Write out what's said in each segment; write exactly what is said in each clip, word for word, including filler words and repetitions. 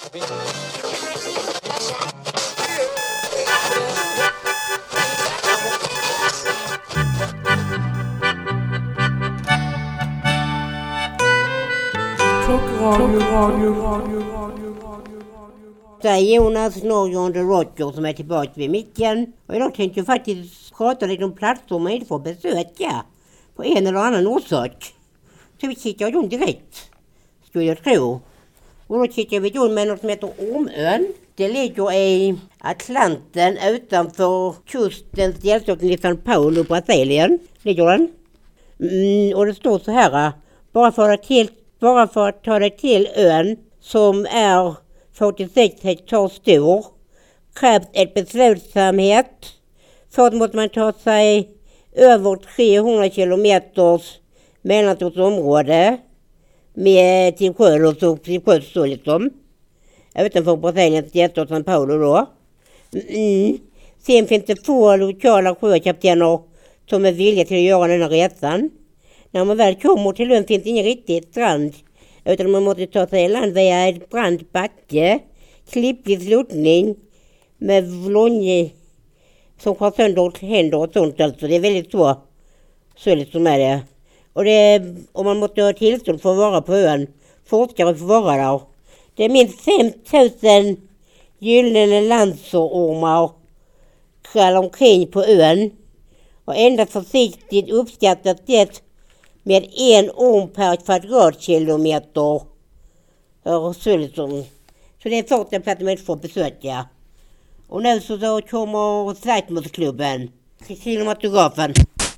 Det är Jonas Norge the Roger som är tillbaka vid micken. Och idag tänkte jag faktiskt prata lite om platser man inte får besöka på en eller annan orsak. Så vi kikar ju direkt, skulle jag tro. Och då kikar vi ju med något som heter Ormön. Det ligger i Atlanten utanför kustens delstaten i São Paulo, Brasilien. Ligger den. Mm, och det står så här. Bara för, att till, bara för att ta dig till ön som är fyrtiosex hektar stor krävs ett beslutsamhet. Först måste man ta sig över trehundra kilometers mellantortsområde med till sjön och så till sjön så liksom. Utanför Brasiliens delstat São Paulo då. Mm. Sen finns det få lokala sjökaptener som är villiga till att göra den här resan. När man väl kommer till ön finns det ingen riktig strand. Utan man måste ta sig i land via ett brant backe. Klippig sluttning med vlonje som har sönder händer och sånt. Alltså. Det är väldigt så. Så liksom är det. Och, det, och man måste ha tillstånd för att vara på ön. Forskare får vara där. Det är minst fem tusen gyllene landsormar kall omkring på ön. Och endast försiktigt uppskattas det med en orm per kvadratkilometer. Så, liksom. Så det är första plats man inte får besöka. Och nu så då kommer Sightmorsklubben. Cinematografen.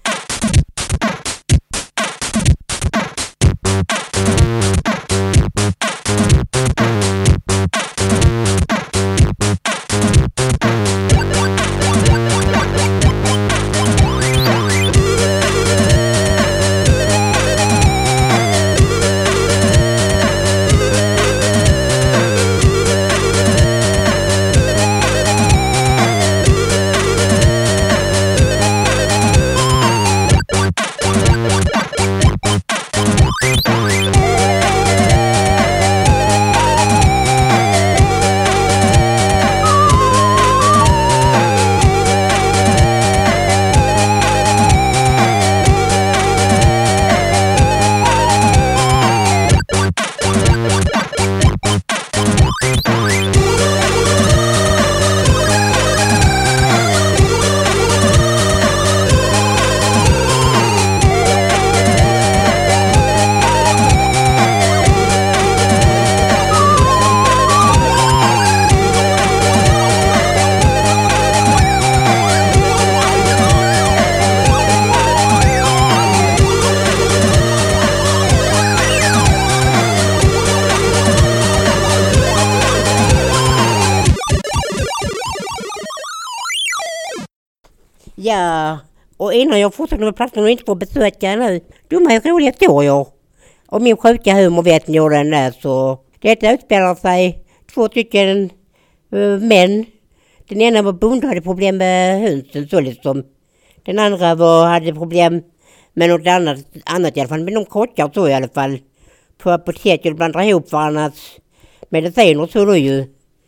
Ja, och innan jag fortsätter med platsen och inte får besöka nu, dumma och roliga historier. Och min sjuka humor vet ni hur den är, så detta utspelar sig två stycken uh, män. Den ena var bonde och hade problem med hönsen, så liksom. Den andra var, hade problem med något annat, annat i alla fall, med någon krockar så i alla fall. På apoteket och blandar ihop varandras mediciner, så då ju.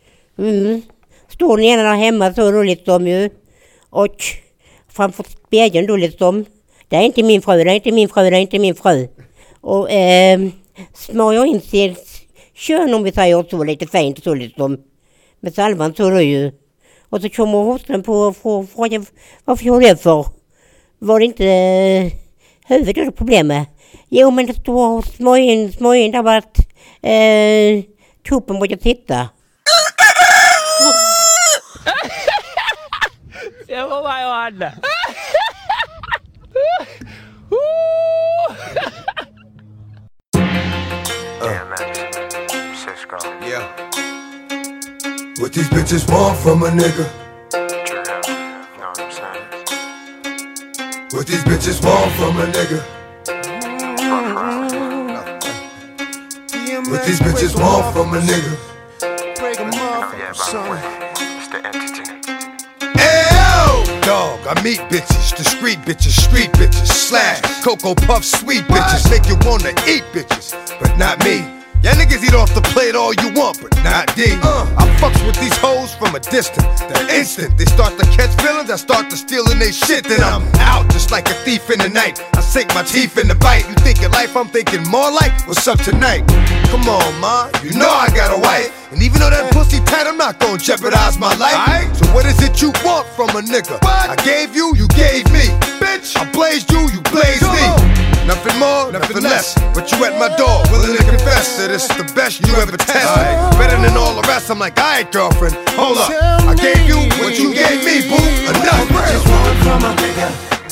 Mm. Står den ena där hemma så då liksom ju. Och framför spegeln då liksom. Det är inte min fru, det är inte min fru, det är inte min fru. Och eh, smörjer in sig kön om vi säger så lite fint så liksom. Med salvan så då ju. Och så kommer hosten på och frågar varför gör det för? Var det inte eh, huvudet då problemet? Jo, men det står smörj in, smörj in där var att eh, tuppen börjar titta. Jag var bara jag hade. Yeah. What these bitches want from a nigga? What these bitches want from a nigga? What these bitches want from a nigga? Break them off, son. Dog, I meet bitches, discreet bitches, street bitches, slash, Cocoa Puff, sweet bitches, make you wanna eat bitches, but not me. Y'all niggas eat off the plate all you want, but not D. Uh, I fucks with these hoes from a distance. The instant they start to catch feelings, I start to stealing they shit. Then I'm out just like a thief in the night. I sink my teeth in the bite. You thinking life, I'm thinking more like what's up tonight. Come on, ma, you know I got a wife. And even though that pussy tight, I'm not gonna jeopardize my life. So what is it you want from a nigga? I gave you, you gave me. Bitch, I blazed you, you blazed me. Nothing more, nothing less. But you at my door, willing to confess that it's the best you ever test. Better than all the rest. I'm like, alright, girlfriend, hold up. I gave you what you gave me, boo. Enough. Just want from a nigga.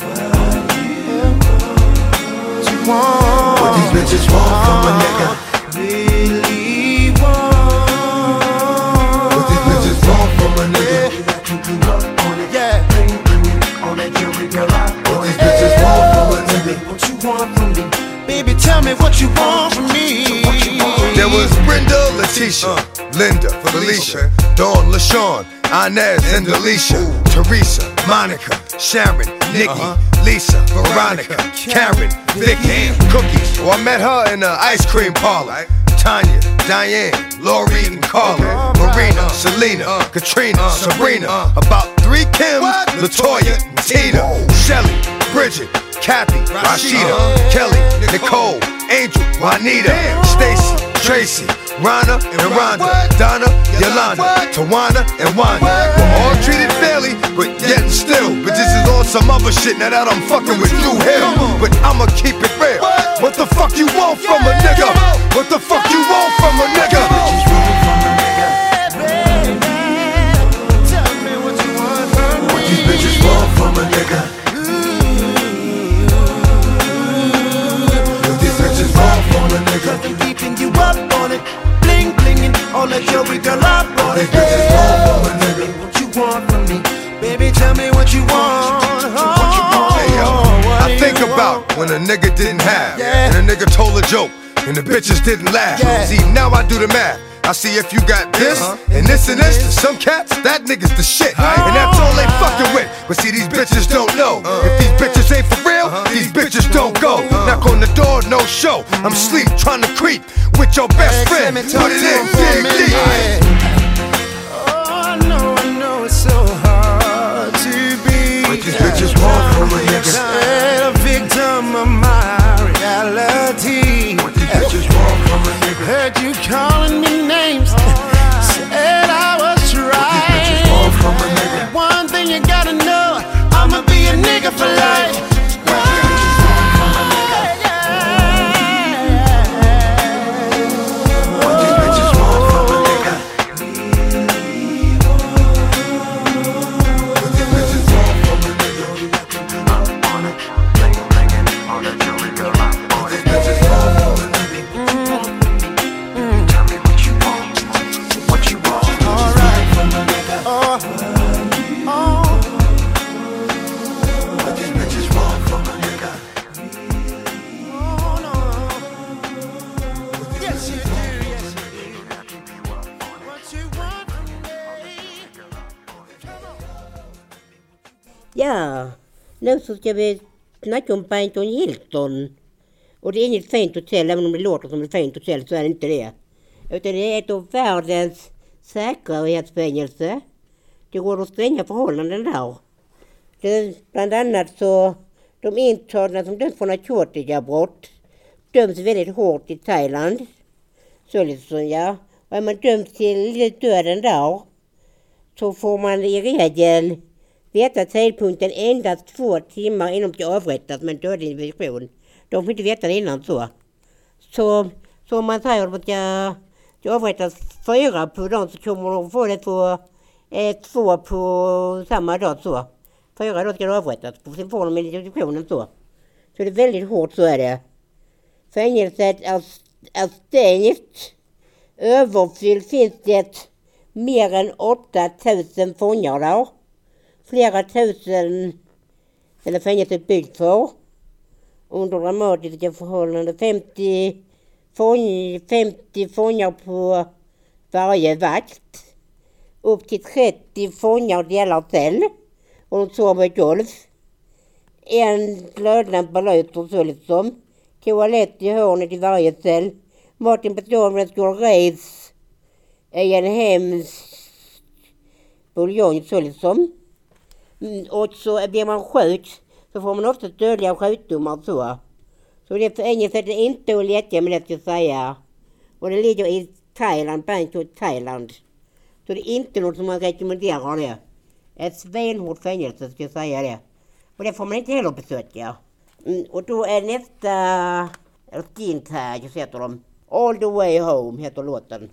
What you want? What these bitches want from a nigga? Really want? What these bitches want from a nigga? Yeah. What these bitches want from a nigga? What you want from me? Baby, tell me what you want from me. There was Brenda, Leticia, Linda, Felicia, Dawn, LaShawn, Inez, and Alicia, Teresa, Monica, Sharon, Nikki, Lisa, Veronica, Karen, Vicky, Cookies. Oh, I met her in the ice cream parlor. Tanya, Diane, Lori, and Carla, Marina, Selena, Katrina, Sabrina. About three Kims, LaToya, and Tina, Shelly, Bridget, Kathy, Rashida, Kelly, Nicole, Angel, Juanita, Stacy, Tracy, Rana, and Rhonda, Donna, Yolanda, Tawana, and Wanda. We're all treated fairly, but yet and still bitches is on some other shit now that I'm fucking with you here. But I'ma keep it real. What the fuck you want from a nigga? What the fuck you want from a nigga? Tell me what you want from me. What these bitches want from a nigga? What these bitches want from a nigga? Nothing keeping you up on it. Bling blinging, all that jewelry girl up on it. What these bitches want from a nigga? What you want from me? Baby, tell me what you want. What you want? Hey yo, I think about when a nigga didn't have, Yeah. and a nigga told a joke, and the bitches didn't laugh. Yeah. See, now I do the math. I see if you got this, and this and this. To some cats, that nigga's the shit, and that's all they fucking with. But see, these bitches don't know. If these bitches ain't for real, these bitches don't go. Knock on the door, no show. I'm sleep, trying to creep with your best friend. Put it in, dig deep. Oh, I know, I know it's so hard to be. What these bitches want from a nigga? Said a victim of my reality. What these bitches want from a nigga? Heard you calling me names. Said I was bitches want from a nigga? right. One thing you gotta know, I'ma be a nigga for life. What these bitches want from a nigga? What these bitches want from a nigga? What these bitches want from a nigga? Tell me what you want. What you want. All right. Oh. Oh. What these bitches want from a nigga? Oh, no. Yes, you do. Yes, you do. What you want from me? Come on. Ja, nu så ska vi snacka om Paddington Hilton. Och det är inget fint hotell, även om det låter som ett fint hotell så är det inte det. Utan det är ett av världens säkerhetsfängelse. Det råder stränga förhållanden där. Det, bland annat så de intagna som döms för narkotikabrott döms väldigt hårt i Thailand. Så liksom, ja. Och är man dömd till döden där så får man i regel veta tidpunkten endast två timmar innan de ska avrättas med en dödlig injektion. De får inte veta det innan så. Så, så om man säger att man ska, ska avrättas fyra på dagen så kommer de få det på eh, två på samma dag så. Fyra dagar ska de avrättas. Sen får de injektionen så. Så det är väldigt hårt så är det. Fängelset är, är stängt. Överfyllt finns det mer än åtta tusen fångar där. Flera tusen eller fängelset byggt för. Under dramatiska förhållanden femtio, fång, femtio fångar på varje vakt. Upp till trettio fångar delar cell. Och de sover i golv. En glödlampa lyser så liksom. Toalett i hörnet i varje cell. Maten består av skål ris, en hemsk buljong så liksom. Mm, och så blir man sjuk så får man ofta dödliga sjukdomar så. Så det är för enkelt att det inte är lätt med det ska säga. Och det ligger i Thailand, Bangkok, Thailand. Så det är inte något som man rekommenderar det. Ett svenhårt fängelse ska jag säga det. Och det får man inte heller besöka. Mm, och då är nästa Skin Tag heter de. All the way home heter låten.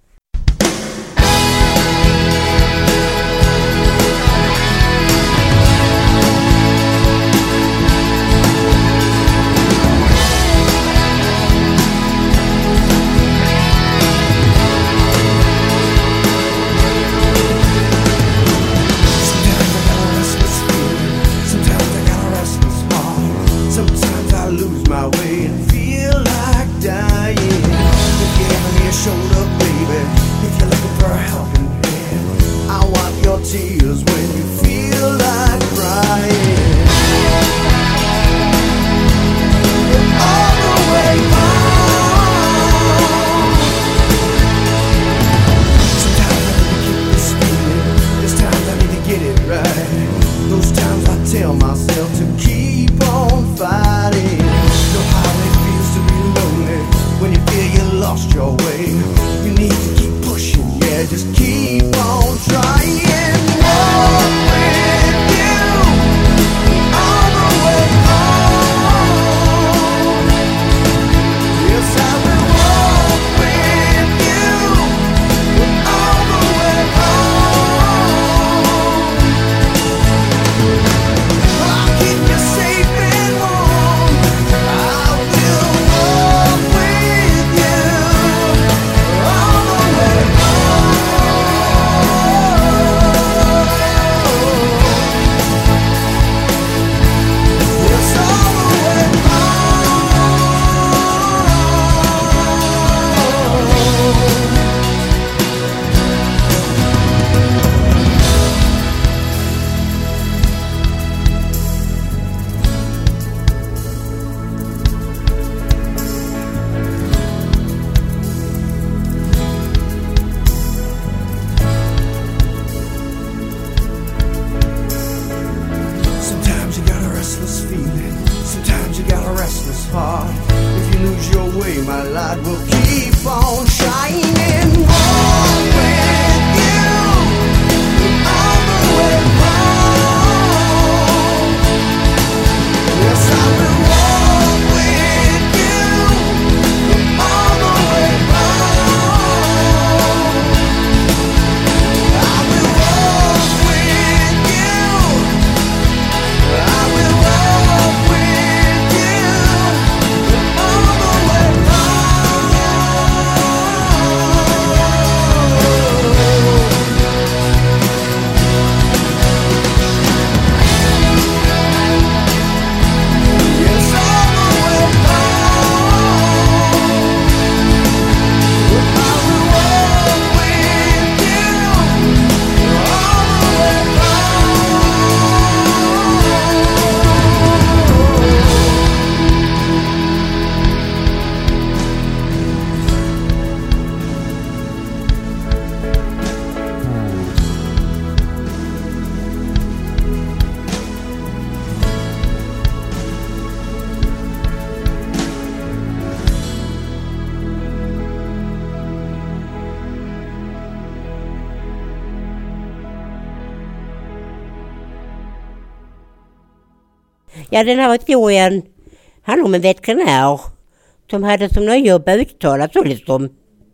Tears when you feel like crying. All the way home. Sometimes I need to keep this feeling. There's times I need to get it right. Those times I tell myself to keep on fighting. Know how it feels to be lonely when you feel you lost your way. You need to keep pushing, yeah, just keep on trying. Ja, den här historien handlar om en veterinär som hade som nöje att uttala så liksom.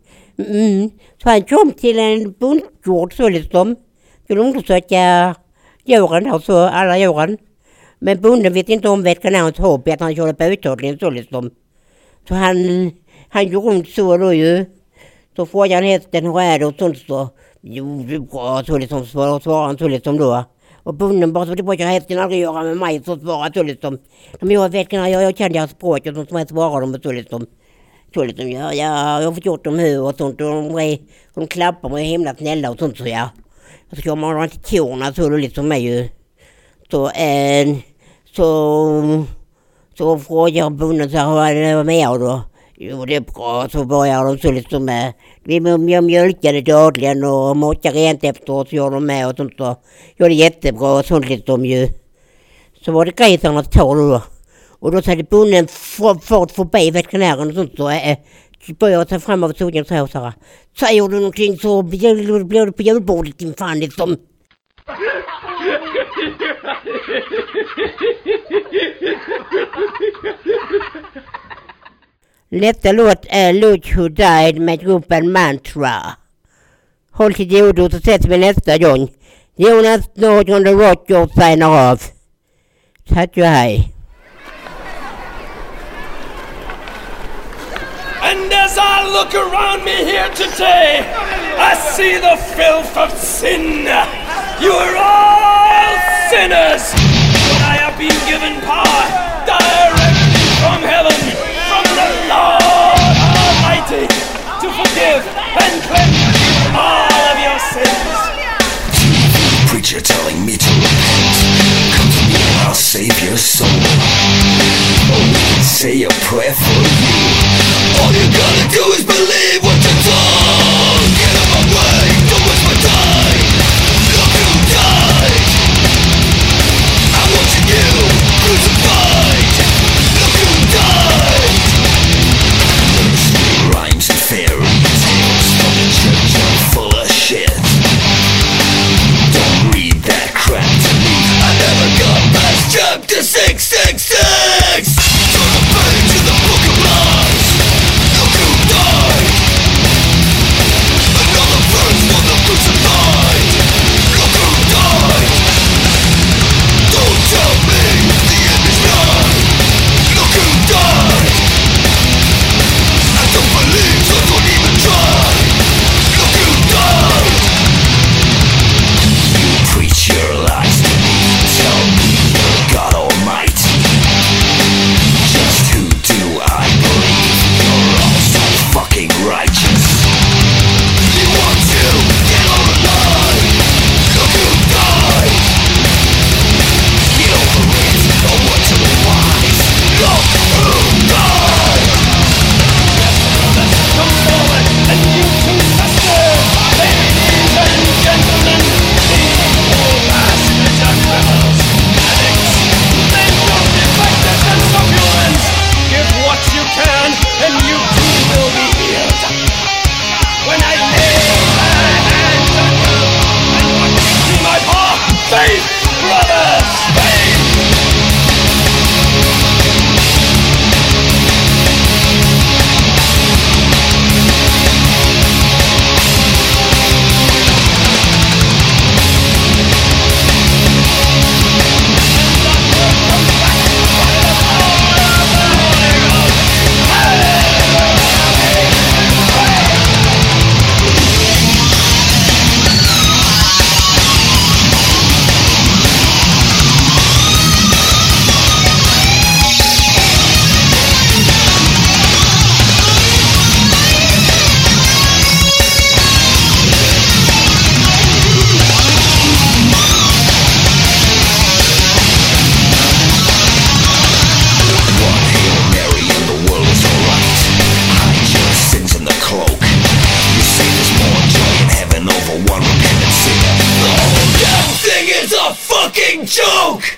Mm. Så han kom till en bondgård så liksom. Skulle undersöka djuren där så, alla djuren. Men bonden vet inte om veterinärens hobby att han körde på uttagningen så liksom. Så han, han gjorde runt så då ju. Så frågade han hästen hur är det och sånt så. Jo, det är bra så liksom svarade han så liksom då. Och bonden bara så det brukar hästen aldrig göra med mig så svarade så liksom. De jag vet jag, jag kände deras språk och sånt som jag svarade dem så liksom. Så liksom ja, ja, jag har fått gjort dem hur och sånt och de, de klappar mig himla snälla och sånt så ja. Och så kommer man inte korna så då liksom mig ju. Så en så så frågar bonden så här, vad är det med då? Jo, det är bra. Så börjar de så liksom med. Vi mjölkade dagligen och matade rent efteråt. Så gör de med och sånt. Och gör det jättebra och sånt lite de ju. Så var det grisarnas tål då. Och då hade bonden fart förbi veterinären och sånt. Och äh, började ta fram av solen och så här. Säger du någonting så blir det på julbordet din fan liksom. Nästa låt är Look Who Died med gruppen Mantra. Håll till godo och ses vi nästa gång. Jonas Nordgren The Rocker signar av. Tack och hej. And as I look around me here today, I see the filth of sin. You are all sinners, but I have been given power directly from heaven, from the Lord Almighty, to forgive and cleanse all of your sins. Preacher telling me to repent. Come to me and I'll save your soul. Oh, we can say a prayer for you. All you gotta do is believe what you're told. Get out my way, don't waste my time. Look who died. I'm watching you crucified. Look who died. Nursery rhymes and fairy tales from the church are full of shit. Don't read that crap to me. I never got past chapter six six six. Turn the page in the book of lies. Look who died. Another verse for the crucified. Look who died. Don't tell me the end is nigh. Look who died. I don't believe, so don't even try. Look who died. You preach your lies to me. Tell me you're God Almighty. Just who do I believe? You're all so fucking righteous. You want to get all alive. Look who died. Get over it, or what to be wise. Look who died. Come forward, and you two sisters, ladies and gentlemen, evil bastards and rebels, addicts, mental defectors and succulents, give what you can, and you too will be healed. When I lay my hands on you, and what gives me my paw, faith, brothers, faith! One Hail Mary and the world is alright. Hide your sins in the cloak. You say there's more joy in heaven over one repentant sinner. The whole damn thing is a fucking joke!